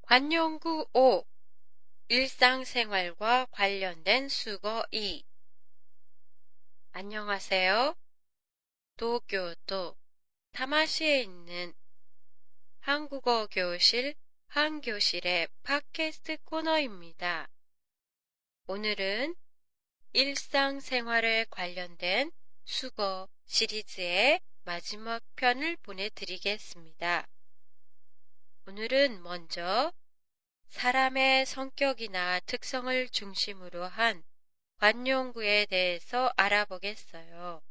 관용구 5. 일상생활과 관련된 수거 2. 안녕하세요. 도쿄도 타마시에 있는 한국어 교실 한교실의 팟캐스트 코너입니다. 오늘은 일상생활에 관련된 수거 시리즈의 마지막 편을 보내드리겠습니다. 오늘은 먼저 사람의 성격이나 특성을 중심으로 한 관용구에 대해서 알아보겠어요.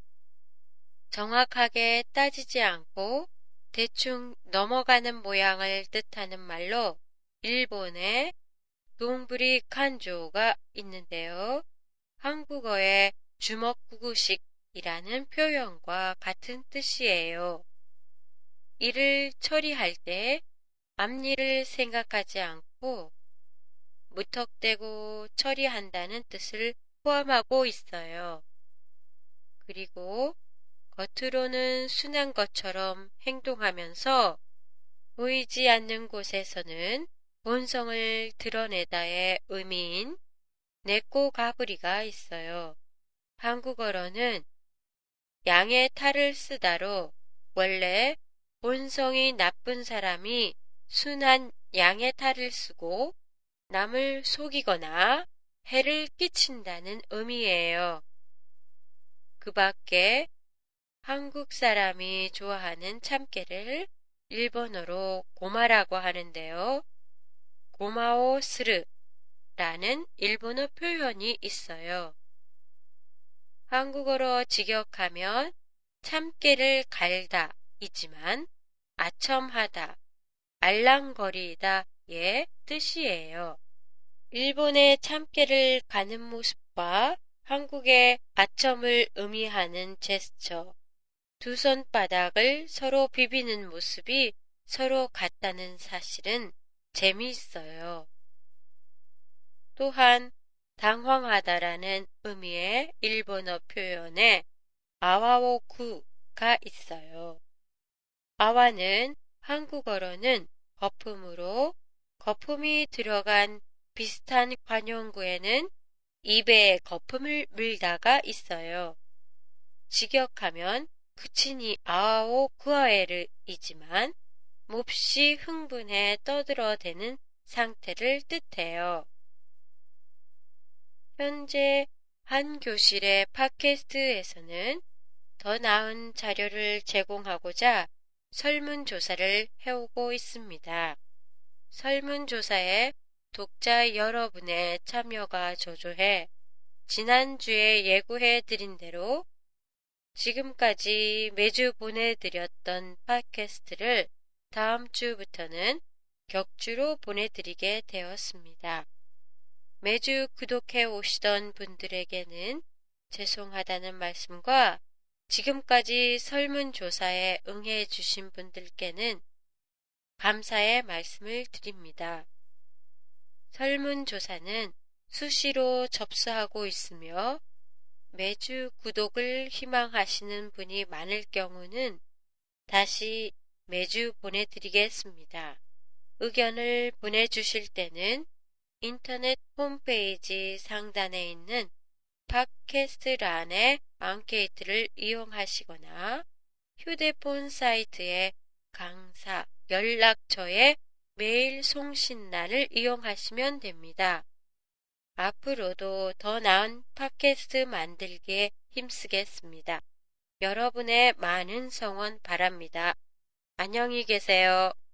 정확하게 따지지 않고 대충 넘어가는 모양을 뜻하는 말로 일본의 동부리 칸조가 있는데요. 한국어의 주먹구구식이라는 표현과 같은 뜻이에요. 일을 처리할 때 앞일을 생각하지 않고 무턱대고 처리한다는 뜻을 포함하고 있어요. 그리고 겉으로는 순한 것처럼 행동하면서 보이지 않는 곳에서는 본성을 드러내다의 의미인 내꼬가부리가 있어요. 한국어로는 양의 탈을 쓰다로 원래 본성이 나쁜 사람이 순한 양의 탈을 쓰고 남을 속이거나 해를 끼친다는 의미예요. 그 밖에 한국 사람이 좋아하는 참깨를 일본어로 고마라고 하는데요. 고마오 스르라는 일본어 표현이 있어요. 한국어로 직역하면 참깨를 갈다 이지만 아첨하다, 알랑거리다의 뜻이에요. 일본의 참깨를 가는 모습과 한국의 아첨을 의미하는 제스처, 두 손바닥을 서로 비비는 모습이 서로 같다는 사실은 재미있어요. 또한 당황하다라는 의미의 일본어 표현에 아와오쿠가 있어요. 아와는 한국어로는 거품으로 거품이 들어간 비슷한 관용구에는 입에 거품을 물다가 있어요. 직역하면 그치니 아오 구아에르이지만 몹시 흥분해 떠들어대는 상태를 뜻해요. 현재 한 교실의 팟캐스트에서는 더 나은 자료를 제공하고자 설문조사를 해오고 있습니다. 설문조사에 독자 여러분의 참여가 저조해 지난주에 예고해 드린 대로 지금까지 매주 보내드렸던 팟캐스트를 다음 주부터는 격주로 보내드리게 되었습니다. 매주 구독해 오시던 분들에게는 죄송하다는 말씀과 지금까지 설문조사에 응해 주신 분들께는 감사의 말씀을 드립니다. 설문조사는 수시로 접수하고 있으며 매주 구독을 희망하시는 분이 많을 경우는 다시 매주 보내드리겠습니다. 의견을 보내주실 때는 인터넷 홈페이지 상단에 있는 팟캐스트란의 앙케이트를 이용하시거나 휴대폰 사이트의 강사 연락처의 메일 송신란을 이용하시면 됩니다. 앞으로도 더 나은 팟캐스트 만들기에 힘쓰겠습니다. 여러분의 많은 성원 바랍니다. 안녕히 계세요.